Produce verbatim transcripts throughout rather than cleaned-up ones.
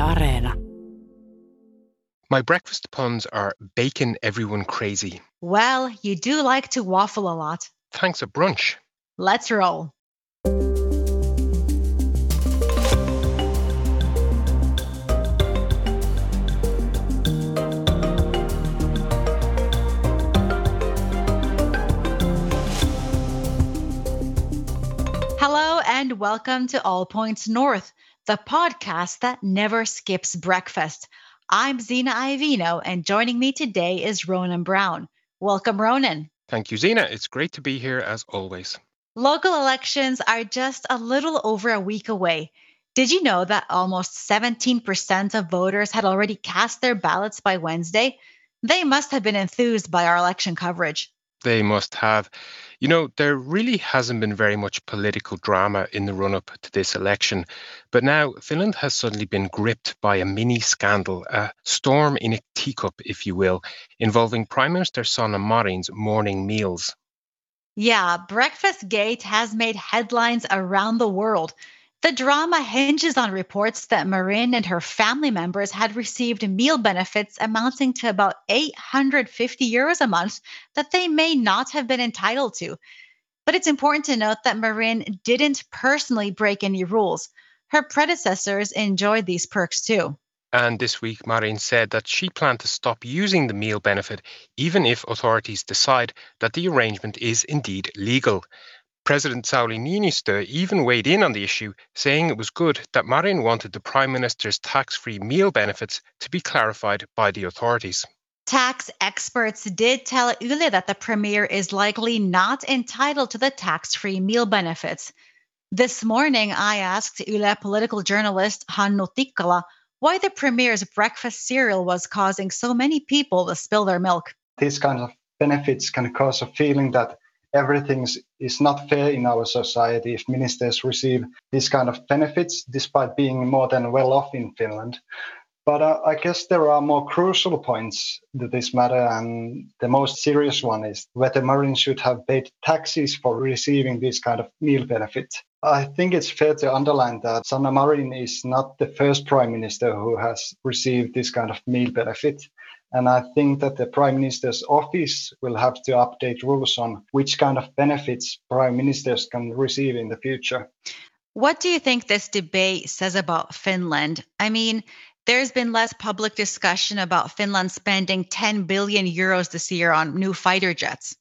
Areena. My breakfast puns are bacon everyone crazy. Well, you do like to waffle a lot. Thanks a brunch. Let's roll. Hello and welcome to All Points North, the podcast that never skips breakfast. I'm Zena Iovino, and joining me today is Ronan Brown. Welcome, Ronan. Thank you, Zena. It's great to be here as always. Local elections are just a little over a week away. Did you know that almost seventeen percent of voters had already cast their ballots by Wednesday? They must have been enthused by our election coverage. They must have. You know, there really hasn't been very much political drama in the run-up to this election. But now Finland has suddenly been gripped by a mini scandal, a storm in a teacup, if you will, involving Prime Minister Sanna Marin's morning meals. Yeah, Breakfast Gate has made headlines around the world. The drama hinges on reports that Marin and her family members had received meal benefits amounting to about eight hundred fifty euros a month that they may not have been entitled to. But it's important to note that Marin didn't personally break any rules. Her predecessors enjoyed these perks too. And this week, Marin said that she planned to stop using the meal benefit, even if authorities decide that the arrangement is indeed legal. President Sauli Niinistö even weighed in on the issue, saying it was good that Marin wanted the Prime Minister's tax-free meal benefits to be clarified by the authorities. Tax experts did tell Yle that the Premier is likely not entitled to the tax-free meal benefits. This morning, I asked Yle political journalist Hannu Tikkala why the Premier's breakfast cereal was causing so many people to spill their milk. These kinds of benefits can cause a feeling that everything is not fair in our society if ministers receive these kind of benefits despite being more than well off in Finland. But uh, I guess there are more crucial points to this matter, and the most serious one is whether Marin should have paid taxes for receiving this kind of meal benefit. I think it's fair to underline that Sanna Marin is not the first prime minister who has received this kind of meal benefit. And I think that the Prime Minister's office will have to update rules on which kind of benefits prime ministers can receive in the future. What do you think this debate says about Finland? I mean, there's been less public discussion about Finland spending ten billion euros this year on new fighter jets.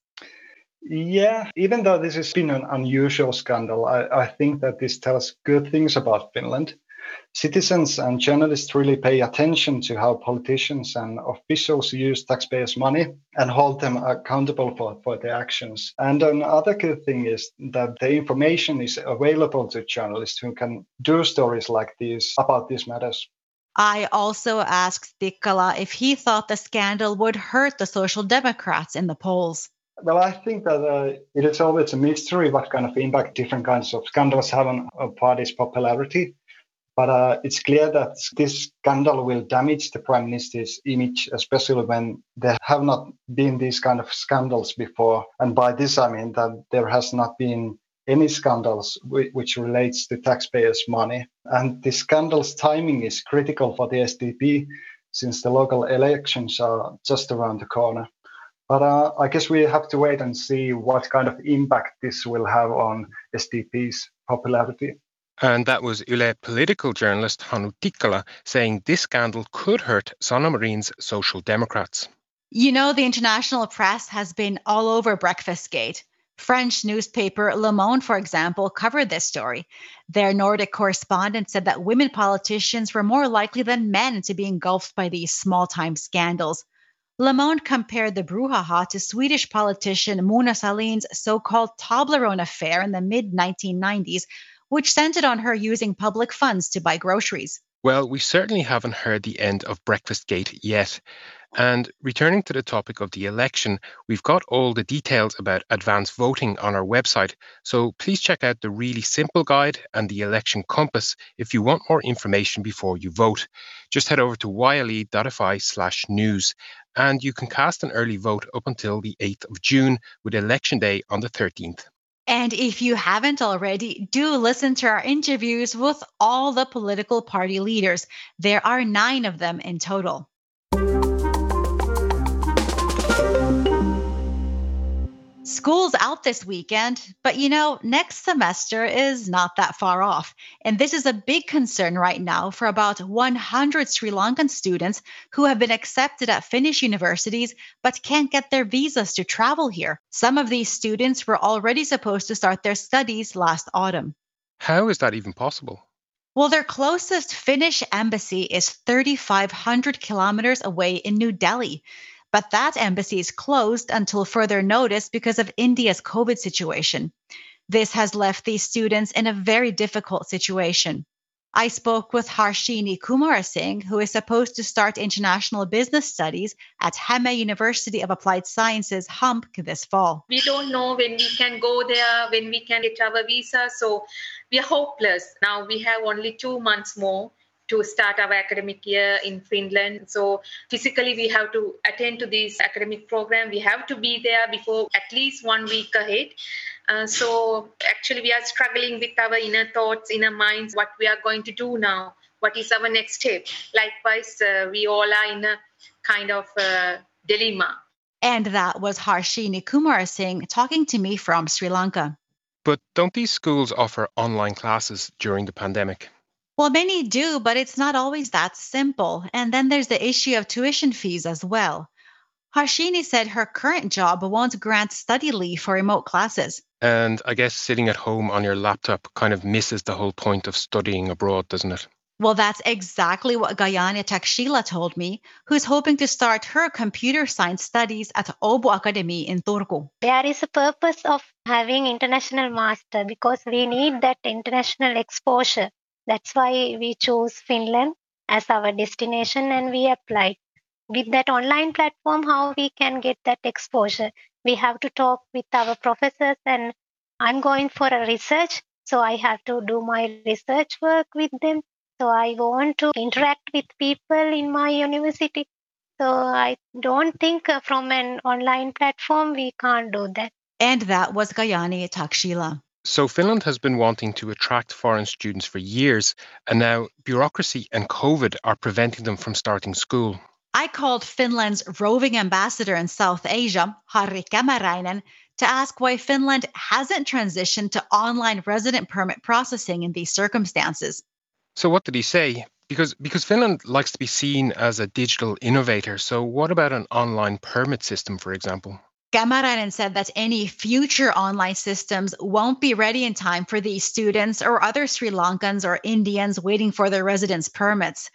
Yeah, even though this has been an unusual scandal, I, I think that this tells good things about Finland. Citizens and journalists really pay attention to how politicians and officials use taxpayers' money and hold them accountable for, for their actions. And another good thing is that the information is available to journalists who can do stories like these about these matters. I also asked Tikkala if he thought the scandal would hurt the Social Democrats in the polls. Well, I think that uh, it is always a mystery what kind of impact different kinds of scandals have on a party's popularity. But uh, it's clear that this scandal will damage the Prime Minister's image, especially when there have not been these kind of scandals before. And by this, I mean that there has not been any scandals w- which relates to taxpayers' money. And the scandal's timing is critical for the S D P since the local elections are just around the corner. But uh, I guess we have to wait and see what kind of impact this will have on S D P's popularity. And that was Yle political journalist Hannu Tikkala saying this scandal could hurt Sanna Marin's Social Democrats. You know, the international press has been all over Breakfast Gate. French newspaper Le Monde, for example, covered this story. Their Nordic correspondent said that women politicians were more likely than men to be engulfed by these small-time scandals. Le Monde compared the brouhaha to Swedish politician Mona Sahlins' so-called Toblerone affair in the mid nineteen nineties, which centered on her using public funds to buy groceries. Well, we certainly haven't heard the end of Breakfast Gate yet. And returning to the topic of the election, we've got all the details about advance voting on our website. So please check out the really simple guide and the election compass if you want more information before you vote. Just head over to yle.fi slash news and you can cast an early vote up until the eighth of June with election day on the thirteenth. And if you haven't already, do listen to our interviews with all the political party leaders. There are nine of them in total. School's out this weekend, but you know, next semester is not that far off. And this is a big concern right now for about one hundred Sri Lankan students who have been accepted at Finnish universities but can't get their visas to travel here. Some of these students were already supposed to start their studies last autumn. How is that even possible? Well, their closest Finnish embassy is thirty-five hundred kilometers away in New Delhi. But that embassy is closed until further notice because of India's COVID situation. This has left these students in a very difficult situation. I spoke with Harshini Kumarasinghe, who is supposed to start international business studies at Häme University of Applied Sciences, H U M C, this fall. We don't know when we can go there, when we can get our visa, so we are hopeless. Now we have only two months more to start our academic year in Finland. So physically we have to attend to this academic program. We have to be there before at least one week ahead. Uh, so actually we are struggling with our inner thoughts, inner minds, what we are going to do now. What is our next step? Likewise, uh, we all are in a kind of uh, dilemma. And that was Harshini Kumarasinghe talking to me from Sri Lanka. But don't these schools offer online classes during the pandemic? Well, many do, but it's not always that simple. And then there's the issue of tuition fees as well. Harshini said her current job won't grant study leave for remote classes. And I guess sitting at home on your laptop kind of misses the whole point of studying abroad, doesn't it? Well, that's exactly what Gayani Takshila told me, who's hoping to start her computer science studies at Åbo Academy in Turku. There is a purpose of having international master because we need that international exposure. That's why we chose Finland as our destination and we applied. With that online platform, how we can get that exposure? We have to talk with our professors and I'm going for a research. So I have to do my research work with them. So I want to interact with people in my university. So I don't think from an online platform, we can't do that. And that was Gayani Takshila. So Finland has been wanting to attract foreign students for years, and now bureaucracy and COVID are preventing them from starting school. I called Finland's roving ambassador in South Asia, Harri Kämäräinen, to ask why Finland hasn't transitioned to online resident permit processing in these circumstances. So what did he say? Because, because Finland likes to be seen as a digital innovator. So what about an online permit system, for example? Kämäräinen said that any future online systems won't be ready in time for these students or other Sri Lankans or Indians waiting for their residence permits.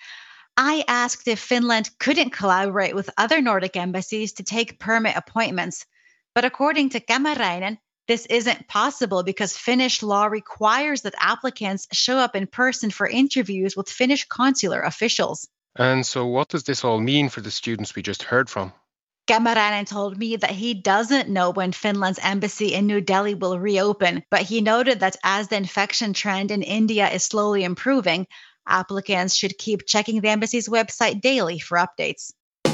I asked if Finland couldn't collaborate with other Nordic embassies to take permit appointments. But according to Kämäräinen, this isn't possible because Finnish law requires that applicants show up in person for interviews with Finnish consular officials. And so what does this all mean for the students we just heard from? Kämäräinen told me that he doesn't know when Finland's embassy in New Delhi will reopen, but he noted that as the infection trend in India is slowly improving, applicants should keep checking the embassy's website daily for updates.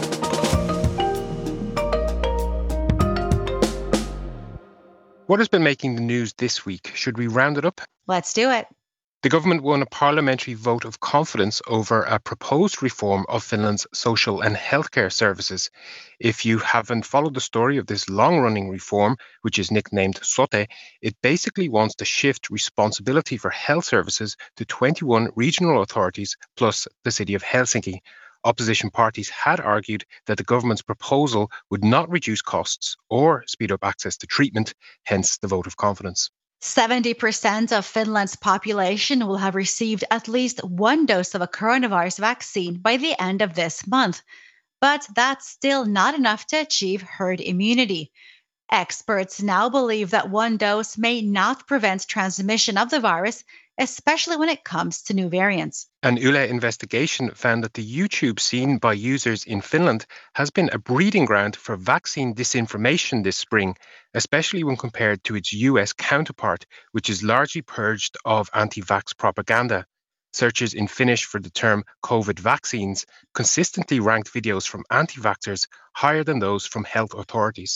What has been making the news this week? Should we round it up? Let's do it. The government won a parliamentary vote of confidence over a proposed reform of Finland's social and healthcare services. If you haven't followed the story of this long-running reform, which is nicknamed SOTE, it basically wants to shift responsibility for health services to twenty-one regional authorities plus the city of Helsinki. Opposition parties had argued that the government's proposal would not reduce costs or speed up access to treatment, hence the vote of confidence. seventy percent of Finland's population will have received at least one dose of a coronavirus vaccine by the end of this month. But that's still not enough to achieve herd immunity. Experts now believe that one dose may not prevent transmission of the virus, especially when it comes to new variants. An Yle investigation found that the YouTube seen by users in Finland has been a breeding ground for vaccine disinformation this spring, especially when compared to its U S counterpart, which is largely purged of anti-vax propaganda. Searches in Finnish for the term COVID vaccines consistently ranked videos from anti-vaxxers higher than those from health authorities.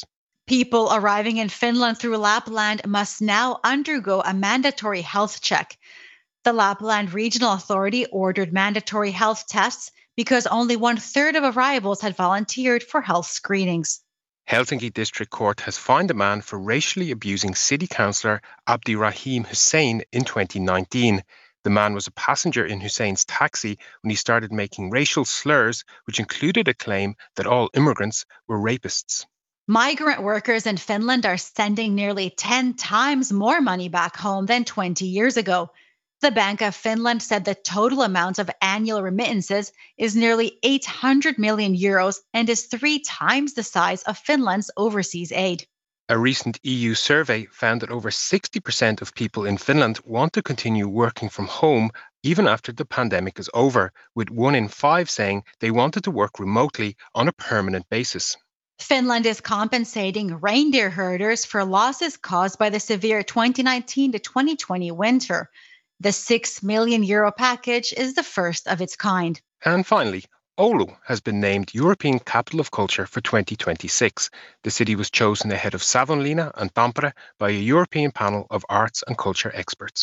People arriving in Finland through Lapland must now undergo a mandatory health check. The Lapland Regional Authority ordered mandatory health tests because only one-third of arrivals had volunteered for health screenings. Helsinki District Court has fined a man for racially abusing City Councillor Abdirahim Hussein in twenty nineteen. The man was a passenger in Hussein's taxi when he started making racial slurs, which included a claim that all immigrants were rapists. Migrant workers in Finland are sending nearly ten times more money back home than twenty years ago. The Bank of Finland said the total amount of annual remittances is nearly eight hundred million euros and is three times the size of Finland's overseas aid. A recent E U survey found that over sixty percent of people in Finland want to continue working from home even after the pandemic is over, with one in five saying they wanted to work remotely on a permanent basis. Finland is compensating reindeer herders for losses caused by the severe twenty nineteen to twenty twenty winter. The six million euro package is the first of its kind. And finally, Oulu has been named European Capital of Culture for twenty twenty-six. The city was chosen ahead of Savonlinna and Tampere by a European panel of arts and culture experts.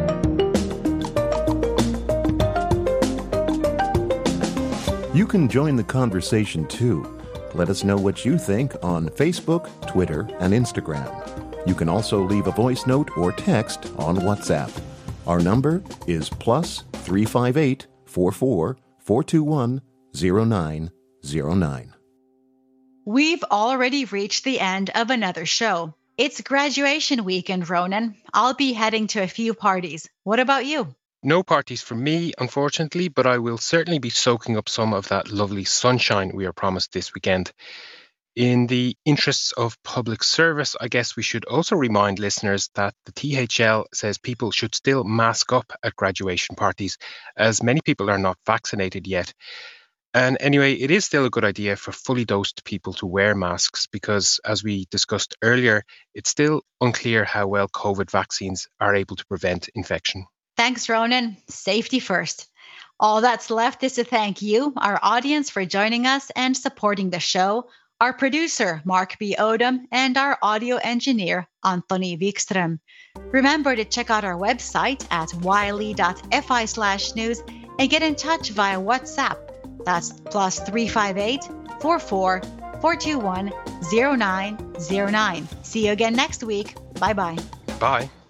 You can join the conversation too. Let us know what you think on Facebook, Twitter, and Instagram. You can also leave a voice note or text on WhatsApp. Our number is plus three five eight, four four, four two one, zero nine zero nine. We've already reached the end of another show. It's graduation weekend, Ronan. I'll be heading to a few parties. What about you? No parties for me, unfortunately, but I will certainly be soaking up some of that lovely sunshine we are promised this weekend. In the interests of public service, I guess we should also remind listeners that the T H L says people should still mask up at graduation parties, as many people are not vaccinated yet. And anyway, it is still a good idea for fully dosed people to wear masks because, as we discussed earlier, it's still unclear how well COVID vaccines are able to prevent infection. Thanks, Ronan. Safety first. All that's left is to thank you, our audience, for joining us and supporting the show, our producer, Mark B. Odom, and our audio engineer, Anthony Wikström. Remember to check out our website at yle.fi slash news and get in touch via WhatsApp. That's plus three five eight, four four, four two one, zero nine zero nine. See you again next week. Bye-bye. Bye.